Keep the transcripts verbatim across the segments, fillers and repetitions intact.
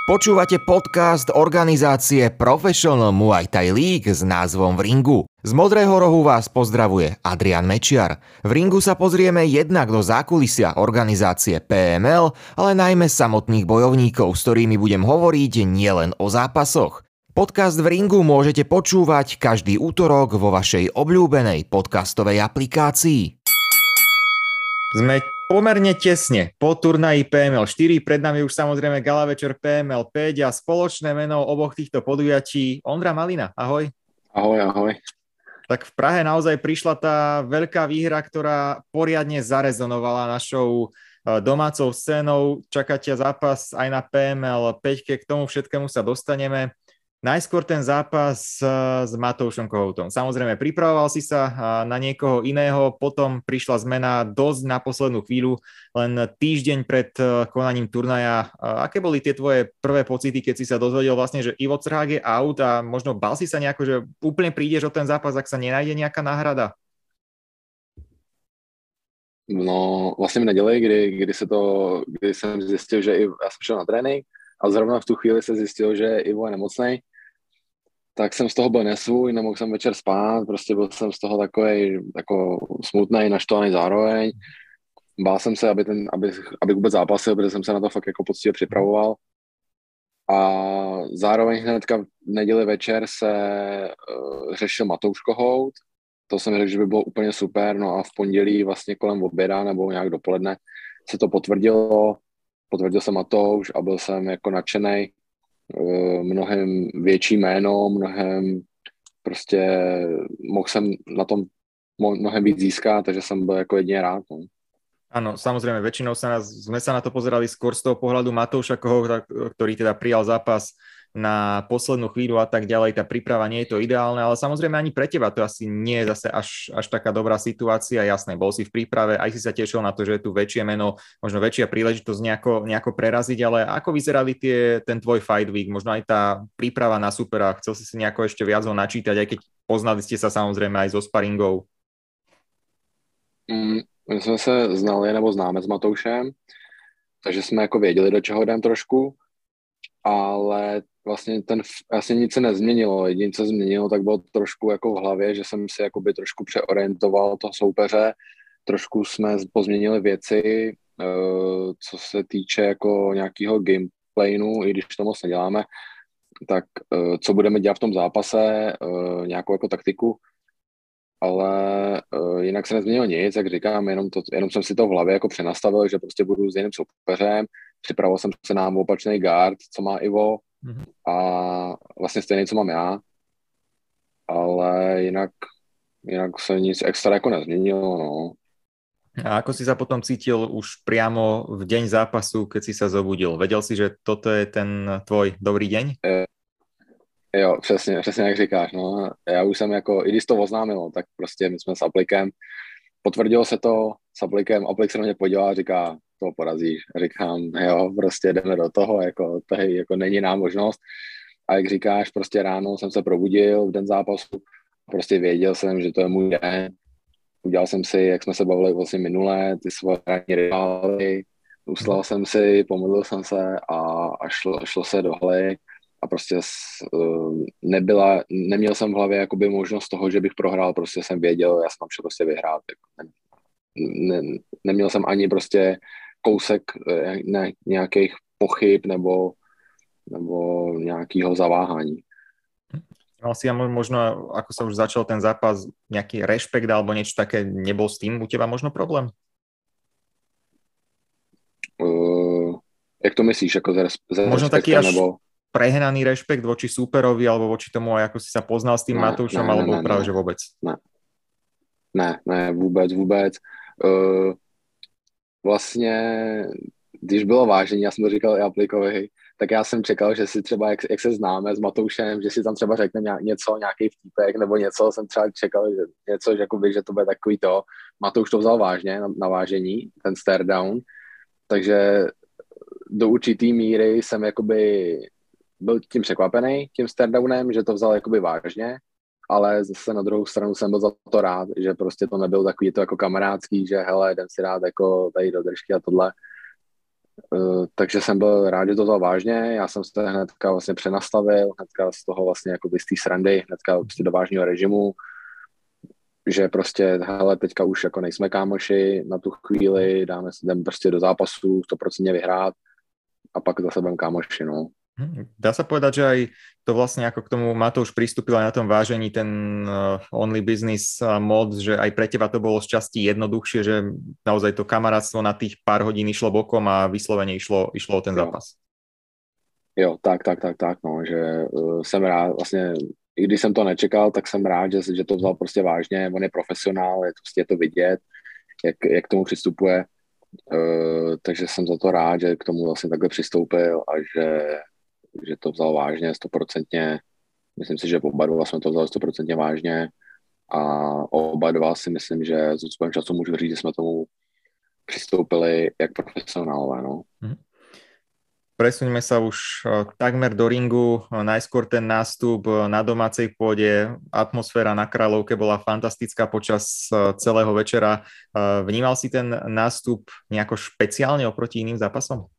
Počúvate podcast organizácie Professional Muay Thai League s názvom V ringu. Z Modrého rohu vás pozdravuje Adrian Mečiar. V ringu sa pozrieme jednak do zákulisia organizácie pé em el, ale najmä samotných bojovníkov, s ktorými budem hovoriť nielen o zápasoch. Podcast V ringu môžete počúvať každý útorok vo vašej obľúbenej podcastovej aplikácii. Sme pomerne tesne po turnaji pé em el štyri, pred nami už samozrejme gala večer pé em el päť a spoločné meno oboch týchto podujatí Ondra Malina. Ahoj. Ahoj, ahoj. Tak v Prahe naozaj prišla tá veľká výhra, ktorá poriadne zarezonovala našou domácou scénou. Čaká ťa zápas aj na pé em el päť, k tomu všetkému sa dostaneme. Najskôr ten zápas s Matoušom Kohoutom. Samozrejme, pripravoval si sa na niekoho iného, potom prišla zmena dosť na poslednú chvíľu, len týždeň pred konaním turnaja. Aké boli tie tvoje prvé pocity, keď si sa dozvedel vlastne, že Ivo Crhák je out a možno bál si sa nejako, že úplne prídeš o ten zápas, ak sa nenájde nejaká náhrada? No, vlastně v neděli, kdy, kdy, se to, kdy jsem zjistil, že Ivo, já jsem šel na trénink a zrovna v tu chvíli se zjistil, že Ivo je nemocnej, tak jsem z toho byl nesvůj, nemohl jsem večer spát, prostě byl jsem z toho takovej jako smutnej, naštvaný zároveň. Bál jsem se, aby, ten, aby, aby vůbec zápasil, protože jsem se na to fakt jako poctivě připravoval. A zároveň hnedka v neděli večer se uh, řešil Matouš Kohout. To jsem řekl, že by bylo úplně super, no a v pondělí vlastně kolem oběda nebo nějak dopoledne se to potvrdilo. Potvrdil se Matouš a byl jsem jako nadšenej. Mnohem větší jméno, mnohem prostě mohl jsem na tom mnohem víc získat, takže jsem byl jako jedině rád. No. Áno, samozrejme, väčšinou sa nás, sme sa na to pozerali skôr z toho pohľadu Matouša Kohouta, ktorý teda prijal zápas na poslednú chvíľu a tak ďalej. Tá príprava nie je to ideálne, ale samozrejme ani pre teba to asi nie je zase až, až taká dobrá situácia. Jasné, bol si v príprave, aj si sa tešil na to, že je tu väčšie meno, možno väčšia príležitosť nejako, nejako preraziť, ale ako vyzerali tie, ten tvoj fight week, možno aj tá príprava na supera, chcel si si nejako ešte viac ho načítať, aj keď poznali ste sa samozrejme aj zo sparingov? Mm. My jsme se znali nebo známe s Matoušem, takže jsme jako věděli, do čeho jdem trošku, ale vlastně, ten, vlastně nic se nezměnilo. Jediné, co změnilo, tak bylo trošku jako v hlavě, že jsem si jakoby trošku přeorientoval toho soupeře, trošku jsme pozměnili věci, co se týče jako nějakého gameplanu, i když to moc neděláme, tak co budeme dělat v tom zápase, nějakou jako taktiku, ale uh, jinak se nezměnilo nic, jak říkám, jenom, to, jenom jsem si to v hlavě jako přenastavil, že prostě budu s jiným soupeřem, připravoval jsem se na opačný guard, co má Ivo mm-hmm. a vlastně stejný, co mám já, ale jinak, jinak se nic extra jako nezměnilo, no. A ako si sa potom cítil už priamo v deň zápasu, keď si sa zobudil? Vedel si, že toto je ten tvoj dobrý deň? E- Jo, přesně, přesně jak říkáš, no. Já už jsem jako, i když to oznámilo, tak prostě my jsme s Aplikem, potvrdilo se to s Aplikem, Aplik se na mě podíval a říká, to porazíš. A říkám, jo, prostě jdeme do toho, jako tady jako není nám možnost. A jak říkáš, prostě ráno jsem se probudil v den zápasu, prostě věděl jsem, že to je můj den. Udělal jsem si, jak jsme se bavili vlastně minule, ty svoje ranní rivály, uslal jsem si, pomodlil jsem se a, a šlo, šlo se do haly. A prostě nebyla, neměl jsem v hlavě jakoby možnost toho, že bych prohrál, prostě jsem věděl, já jsem tam šel prostě vyhrát. Ne, neměl jsem ani prostě kousek ne, nějakých pochyb nebo, nebo nějakého zaváhání. Mal si možno, ako sa už začal ten zápas, nejaký rešpekt alebo niečo také, nebol s tým u teba možno problém? Uh, jak to myslíš? Jako za, za možno taký až nebo... prehnaný rešpekt voči súperovi alebo voči tomu, ako si sa poznal s tým ne, Matoušom, ne, alebo ne, práve, ne. že vôbec? Ne, ne, ne vůbec, vůbec. Uh, vlastně, když bylo vážení, já jsem to říkal i Aplikovi, tak já jsem čekal, že si třeba, jak, jak se známe s Matoušem, že si tam třeba řekne něco, nějaký vtípek nebo něco, jsem třeba čekal, že něco, že, jakoby, že to bude takový to. Matouš to vzal vážně na, na vážení, ten stare down, takže do určitý míry jsem jakoby byl tím překvapený, tím stardownem, že to vzal jakoby vážně, ale zase na druhou stranu jsem byl za to rád, že prostě to nebyl takový to jako kamarádský, že hele, jdem si rád jako tady do držky a tohle. Uh, takže jsem byl rád, že to vzal vážně, já jsem se hnedka vlastně přenastavil, hnedka z toho vlastně jako z té srandy, hnedka prostě do vážného režimu, že prostě, hele, teďka už jako nejsme kámoši na tu chvíli, dáme se jdem prostě do zápasu, sto procent vyhrát a pak zase budeme kámoši, no. Dá sa povedať, že aj to vlastne ako k tomu Matouš pristúpil aj na tom vážení ten uh, only business uh, mod, že aj pre teba to bolo z časti jednoduchšie, že naozaj to kamarátstvo na tých pár hodín išlo bokom a vyslovene išlo, išlo o ten jo. zápas. Jo, tak, tak, tak, tak, no, že uh, jsem rád, vlastně, i když jsem to nečekal, tak jsem rád, že, že to vzal prostě vážně, on je profesionál, je to, prostě je to vidět, jak, jak k tomu přistupuje, uh, takže jsem za to rád, že k tomu vlastně takhle přistoupil a že že to vzal vážně, stoprocentně. Myslím si, že oba dva jsme to vzali stoprocentně vážně a oba dva si myslím, že s ústupem času můžu říct, že jsme tomu přistoupili jak profesionálové. No. Presuňme sa už takmer do ringu. Najskôr ten nástup na domácej pôde. Atmosféra na Kráľovke bola fantastická počas celého večera. Vnímal si ten nástup nejako špeciálne oproti iným zápasom?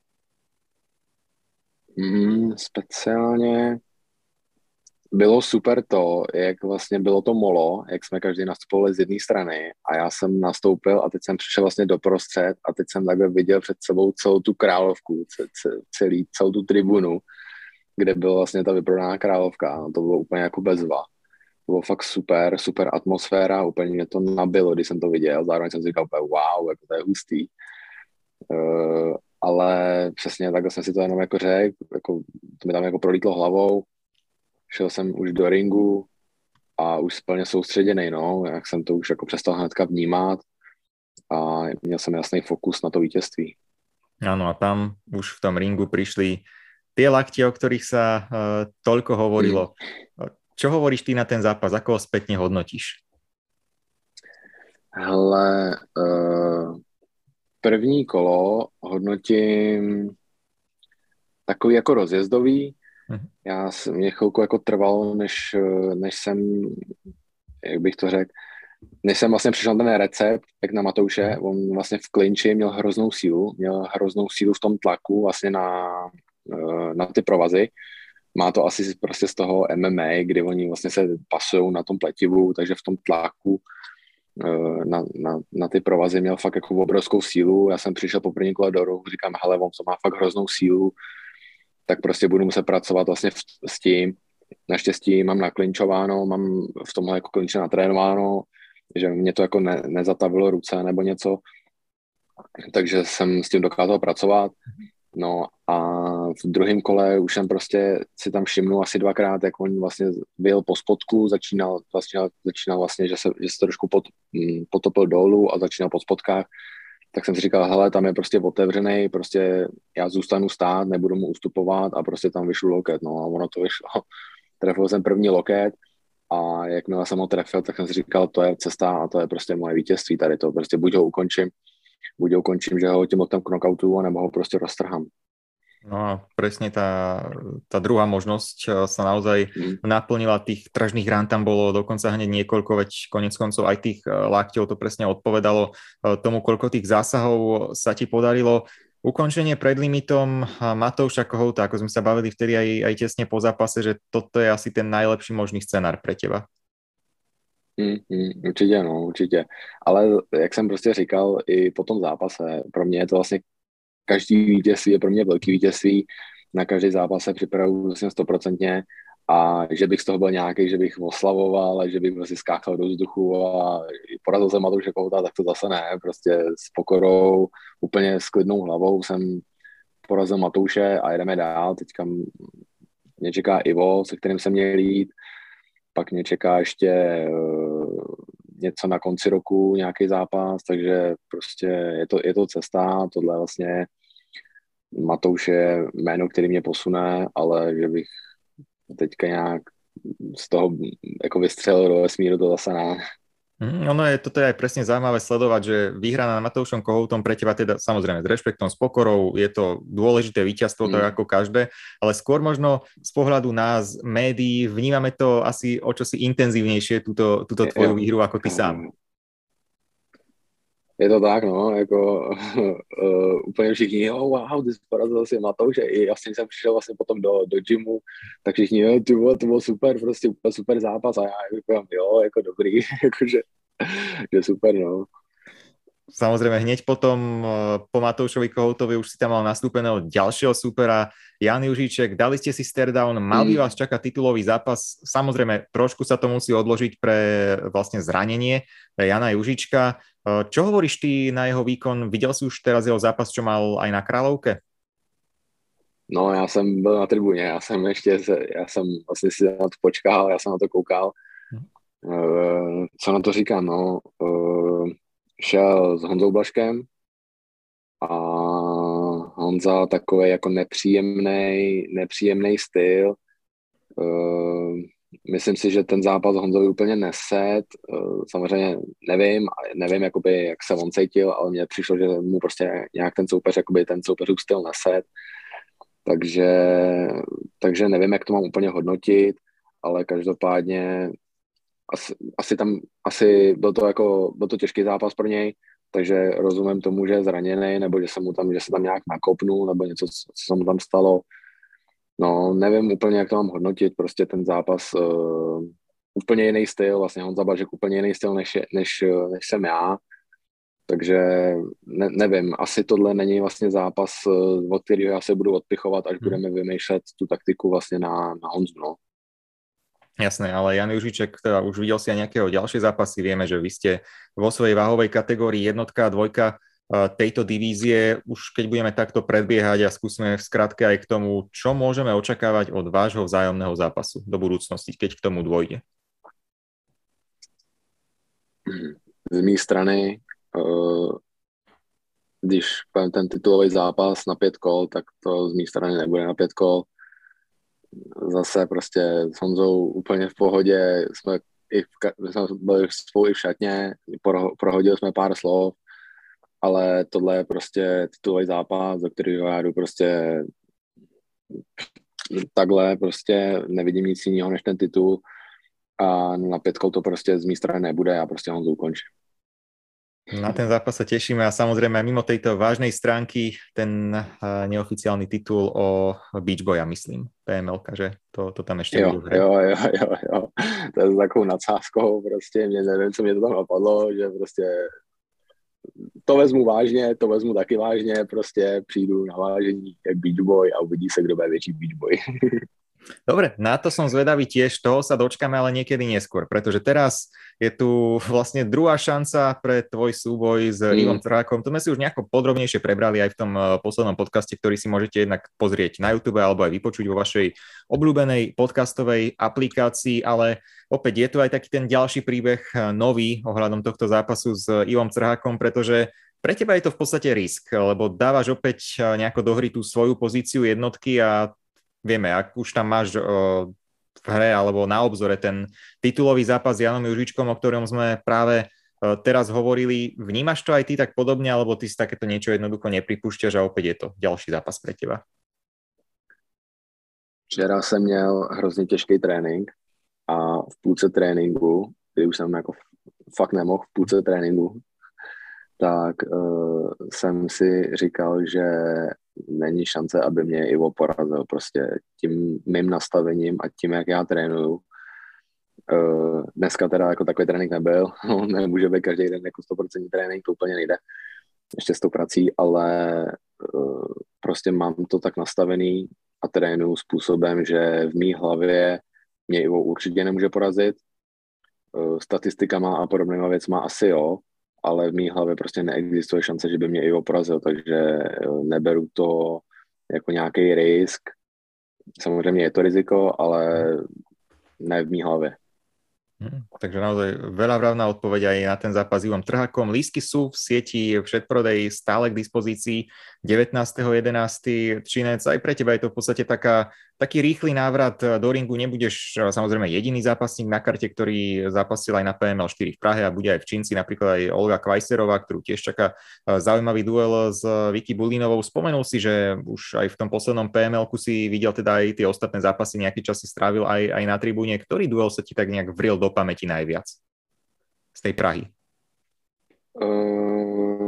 Mm, speciálně bylo super to, jak vlastně bylo to molo, jak jsme každý nastupovali z jedné strany a já jsem nastoupil a teď jsem přišel vlastně doprostřed a teď jsem takhle viděl před sebou celou tu Královku, celý, celou tu tribunu, kde byla vlastně ta vyprodaná Královka. No, to bylo úplně jako bezva. To bylo fakt super, super atmosféra, úplně mě to nabilo, když jsem to viděl, zároveň jsem si říkal úplně wow, jako to je hustý. Uh, ale přesně takhle jsem si to jenom jako řekl, jako, to mi tam jako prolítlo hlavou, šel jsem už do ringu a už plně soustředěnej, no, jak jsem to už jako přestal hnedka vnímat a měl jsem jasný fokus na to vítězství. Áno, a tam už v tom ringu prišli tie lakte, o ktorých sa uh, toľko hovorilo. Mm. Čo hovoríš ty na ten zápas? Ako ho spätne hodnotíš? Hele, uh... první kolo hodnotím takový jako rozjezdový. Hmm. Já mě chvilku jako trvalo, než, než jsem, jak bych to řekl, než jsem vlastně přišel ten recept, jak na Matouše, on vlastně v klinči měl hroznou sílu, měl hroznou sílu v tom tlaku vlastně na, na ty provazy. Má to asi prostě z toho M M A, kdy oni vlastně se pasují na tom pletivu, takže v tom tlaku Na, na, na ty provazy měl fakt jako obrovskou sílu. Já jsem přišel po první kole do rohu, říkám, hele, on to má fakt hroznou sílu, tak prostě budu muset pracovat vlastně v, s tím. Naštěstí mám naklinčováno, mám v tomhle jako klinče natrénováno, že mě to jako ne, nezatavilo ruce nebo něco, takže jsem s tím dokázal pracovat. No a v druhém kole už jsem prostě si tam všimnul asi dvakrát, jak on vlastně vyjel po spodku, začínal, začínal, začínal vlastně, že se, že se trošku pot, potopil dolů a začínal po spodkách, tak jsem si říkal, hele, tam je prostě otevřený, prostě já zůstanu stát, nebudu mu ustupovat a prostě tam vyšlu loket, no a ono to vyšlo. Trefil jsem první loket a jakmile jsem ho trefil, tak jsem si říkal, to je cesta a to je prostě moje vítězství tady to, prostě buď ho ukončím, buď ho ukončím, že ho tím loktem knockoutu, nebo ho prostě roztrhám. No a presne tá, tá druhá možnosť sa naozaj mm. naplnila, tých tržných rán tam bolo dokonca hneď niekoľko, veď konec koncov aj tých lakťov to presne odpovedalo tomu, koľko tých zásahov sa ti podarilo. Ukončenie pred limitom Matouša Kohouta, ako sme sa bavili vtedy aj, aj tesne po zápase, že toto je asi ten najlepší možný scenár pre teba. Mm, mm, určitě, no, určitě. Ale jak jsem prostě říkal i po tom zápase, pro mě je to vlastně každý vítězství je pro mě velký vítězství, na každý zápas se připravuju vlastně stoprocentně a že bych z toho byl nějaký, že bych oslavoval, že bych prostě skákal do vzduchu a porazil jsem Matouše Kohouta, tak to zase ne, prostě s pokorou, úplně s klidnou hlavou jsem porazil Matouše a jedeme dál, teďka mě čeká Ivo, se kterým jsem měl jít, pak mě čeká ještě uh, něco na konci roku, nějaký zápas, takže prostě je to, je to cesta, tohle vlastně Matouš je jméno, který mě posune, ale že bych teďka nějak z toho jako vystřelil do vesmíru, to zase ne. Mm, ono je, toto je aj presne zaujímavé sledovať, že výhra nad Matoušom Kohoutom pre teba teda samozrejme s rešpektom, s pokorou, je to dôležité víťazstvo, mm. tak ako každé, ale skôr možno z pohľadu nás, médií, vnímame to asi o čosi intenzívnejšie, túto, túto tvoju výhru ako ty sám. je to tak, no, jako uh, úplně všichni, jo, wow, ty jsi porazil si Matouše, i vlastně jsem přišel vlastně potom do, do gymu, tak všichni, jo, ty vole, to bylo super, prostě úplně super zápas a já říkám, jo, jako dobrý, jakože, že super, no. Samozrejme, hneď potom po Matoušovi Kohoutovi už si tam mal nastúpeného ďalšieho supera, Jan Juříček, dali ste si staredown, mal by vás čakať titulový zápas, samozrejme, trošku sa to musí odložiť pre vlastne zranenie pre Jana Juříčka. Čo hovoríš ty na jeho výkon? Videl si už teraz jeho zápas, čo mal aj na Královke? No, já jsem byl na tribuně, já jsem ještě, já jsem vlastně si na to počkal, já jsem na to koukal. Hmm. Uh, co na to říkám, no, uh, šel s Honzou Blažkem a Honza takový jako nepříjemný, nepříjemný styl. Uh, myslím si, že ten zápas Honzovi úplně neset. Uh, samozřejmě nevím, nevím jakoby, jak se on cítil, ale mně přišlo, že mu prostě nějak ten soupeř, jakoby ten soupeřův styl neset. Takže, takže nevím, jak to mám úplně hodnotit, ale každopádně asi, asi tam, asi byl to jako, byl to těžký zápas pro něj, takže rozumím tomu, že je zraněný, nebo že se mu tam, že se tam nějak nakopnul, nebo něco, co se mu tam stalo. No, nevím úplně, jak to mám hodnotit, prostě ten zápas, uh, úplně jiný styl, vlastně Honza Blažek úplně jiný styl, než, než, než jsem já. Takže ne, nevím, asi tohle není vlastně zápas, od kterého já se budu odpichovat, až hmm. budeme vymýšlet tu taktiku vlastně na, na Honzu, no. Jasné, ale Jan Juříček, teda už videl si aj nejakého ďalšie zápasy, vieme, že vy ste vo svojej váhovej kategórii jednotka a dvojka tejto divízie. Už keď budeme takto predbiehať a skúsime v skratke aj k tomu, čo môžeme očakávať od vášho vzájomného zápasu do budúcnosti, keď k tomu dôjde. Z mé strany Uh, když ten titulový zápas na pět kol, tak to z mé strany nebude na pět kol. Zase prostě s Honzou úplně v pohodě, jsme, i v, jsme byli spolu i v šatně, prohodili jsme pár slov, ale tohle je prostě titulový zápas, do kterého já jdu prostě takhle, prostě nevidím nic jiného než ten titul a na pět kol to prostě z mé strany nebude, já prostě Honzu ukončím. Na ten zápas sa tešíme a samozrejme aj mimo tejto vážnej stránky ten uh, neoficiálny titul o Beach Boya, myslím, pé em elka, že to, to tam ešte jo, budú hrať. Jo, jo, jo, jo, to je s takovou nadsázkou, prostě mě nevím, co mě to tam napadlo, že prostě to vezmu vážně, to vezmu taky vážně, prostě přijdu na vážení jak Beach Boy a uvidí se, kdo bude větší Beach Boy. Dobre, na to som zvedavý tiež, toho sa dočkáme ale niekedy neskôr, pretože teraz je tu vlastne druhá šanca pre tvoj súboj s mm. Ivom Trhákom. To sme si už nejako podrobnejšie prebrali aj v tom poslednom podcaste, ktorý si môžete jednak pozrieť na YouTube alebo aj vypočuť vo vašej obľúbenej podcastovej aplikácii, ale opäť je tu aj taký ten ďalší príbeh nový ohľadom tohto zápasu s Ivom Trhákom, pretože pre teba je to v podstate risk, lebo dávaš opäť nejako do hry tú svoju pozíciu jednotky a vieme, ak už tam máš uh, v hre alebo na obzore ten titulový zápas s Janom Juříčkom, o ktorom sme práve uh, teraz hovorili, vnímaš to aj ty tak podobne, alebo ty si takéto niečo jednoducho nepripúšťaš a opäť je to ďalší zápas pre teba? Včera jsem měl hrozně těžký trénink a v půlce tréninku, kdy už jsem jako fakt nemohl v půlce tréninku, tak uh, jsem si říkal, že není šance, aby mě Ivo porazil prostě tím mým nastavením a tím, jak já trénuju. Uh, dneska teda jako takový trénink nebyl, nemůže být každý den jako sto procent trénink, to úplně nejde, ještě s tou prací, ale uh, prostě mám to tak nastavený a trénuju způsobem, že v mý hlavě mě Ivo určitě nemůže porazit, uh, statistikama a podobnýma věcma asi jo, ale v mý hlavě prostě neexistuje šance, že by mě Ivo porazil, takže neberu to jako nějaký risk. Samozřejmě je to riziko, ale ne v mý hlavě. Hmm, takže naozaj veľa vravná odpoveď aj na ten zápas s Ivom Trhákom. Lístky sú v sieti, v predprodeji stále k dispozícii. devätnásteho jedenásteho Třinec, aj pre teba je to v podstate taká, taký rýchly návrat do ringu. Nebudeš samozrejme jediný zápasník na karte, ktorý zápasil aj na pé em el štyri v Prahe a bude aj v Čínci, napríklad aj Olga Kvajserová, ktorú tiež čaká zaujímavý duel s Vicky Bulinovou. Spomenul si, že už aj v tom poslednom pé em elku si videl teda aj tie ostatné zápasy, nejaký čas si strávil aj, aj na tribúne. Ktorý duel sa ti tak nejak vril do pamäti najviac z tej Prahy? Uh,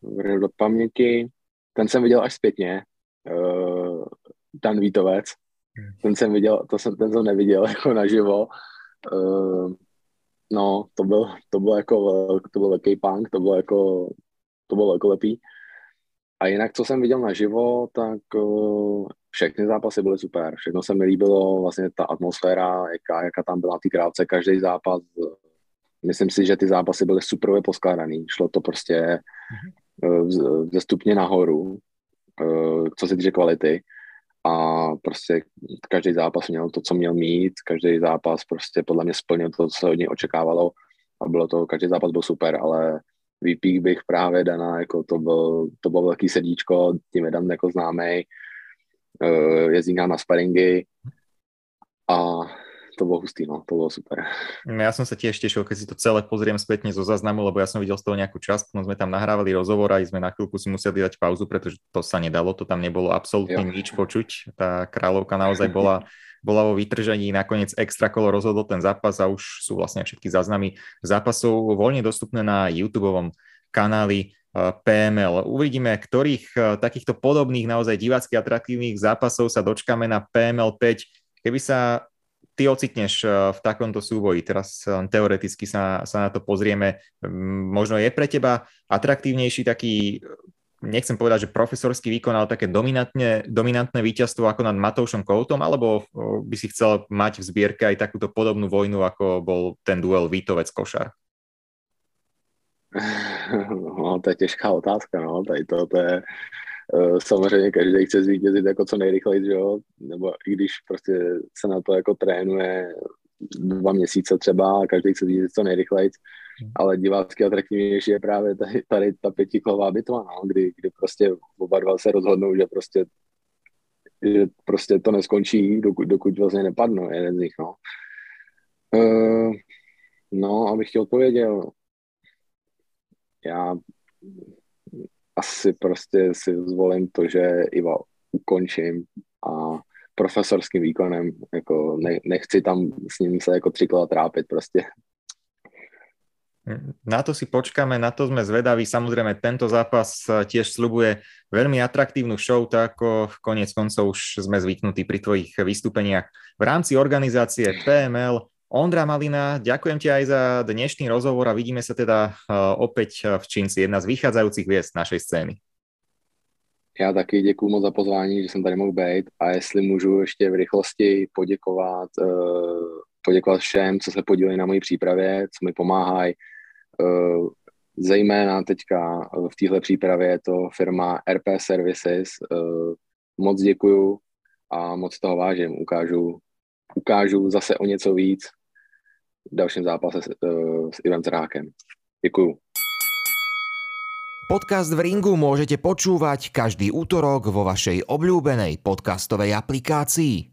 vrhnu do paměti. Ten jsem viděl až zpětně. Uh, Dan Vítovec. Ten jsem viděl, to jsem, ten jsem neviděl jako naživo. Uh, no, to byl, to byl jako, to byl velký punk, to bylo jako, to bylo velkolepý. A jinak, co jsem viděl naživo, tak uh, všechny zápasy byly super. Všechno se mi líbilo, vlastně ta atmosféra, jaká, jaká tam byla na té krávce, každý zápas. Myslím si, že ty zápasy byly superově poskládaný. Šlo to prostě uh, ze stupně nahoru, uh, co se týče kvality. A prostě každý zápas měl to, co měl mít, každý zápas prostě podle mě splnil to, co se od něj očekávalo a bylo to, každý zápas byl super, ale výpík bych právě Dana, jako to byl, to bylo velký srdíčko, tím je Dan jako známej, jezdí nám na sparingy a to bolo hustý, no, to bolo super. Ja som sa tiež tešil, keď si to celé pozriem spätne zo záznamu, lebo ja som videl z toho nejakú časť, no sme tam nahrávali rozhovor a sme na chvíľku si museli dať pauzu, pretože to sa nedalo, to tam nebolo absolútne jo. nič počuť. Tá kráľovka naozaj bola, bola vo vytržení, nakoniec extra kolo rozhodol ten zápas a už sú vlastne všetky záznamy zápasov voľne dostupné na YouTubeovom kanáli pé em el. Uvidíme, ktorých takýchto podobných naozaj divácky atraktívnych zápasov sa dočkáme na pé em el päť. Keby sa ty ocitneš v takomto súboji, teraz teoreticky sa, sa na to pozrieme, možno je pre teba atraktívnejší taký, nechcem povedať, že profesorský výkon, ale také dominantné, dominantné víťazstvo ako nad Matoušom Koutom, alebo by si chcel mať v zbierke aj takúto podobnú vojnu, ako bol ten duel Vítovec-Košar? No, to je těžká otázka, no, tady to, to je uh, samozřejmě každý chce zvítězit jako co nejrychleji, že jo, nebo i když prostě se na to jako trénuje dva měsíce třeba a každý chce zvítězit co nejrychleji, ale divácky atraktivnější je právě tady, tady ta pětikolová bitva, no, kdy, kdy prostě oba dva se rozhodnou, že prostě, že prostě to neskončí, dokud, dokud vlastně nepadnou jeden z nich, no. Uh, no, abych ti odpověděl, já asi prostě si zvolím to, že Iva ukončím a profesorským výkonem, jako ne, nechci tam s ním se jako tři kola trápit prostě. Na to si počkáme, na to sme zvedaví. Samozrejme, tento zápas tiež sľubuje veľmi atraktívnu show, tak ako koniec koncov už sme zvyknutí pri tvojich vystúpeniach v rámci organizácie pé em el. Ondra Malina, ďakujem ti aj za dnešný rozhovor a vidíme sa teda opäť v Čínci, jedna z vychádzajúcich hviezd našej scény. Já taky děkuju moc za pozvání, že jsem tady mohl být a jestli můžu ještě v rychlosti poděkovat, poděkovat všem, co se podíleli na mojí přípravě, co mi pomáhají. Zejména teďka v téhle přípravě je to firma er pé Services. Moc děkuju a moc toho vážím. Ukážu, ukážu zase o něco víc v dalším zápase s, s Ivem Zrákem. Děkuju. Podcast v ringu môžete počúvať každý útorok vo vašej obľúbenej podcastovej aplikácii.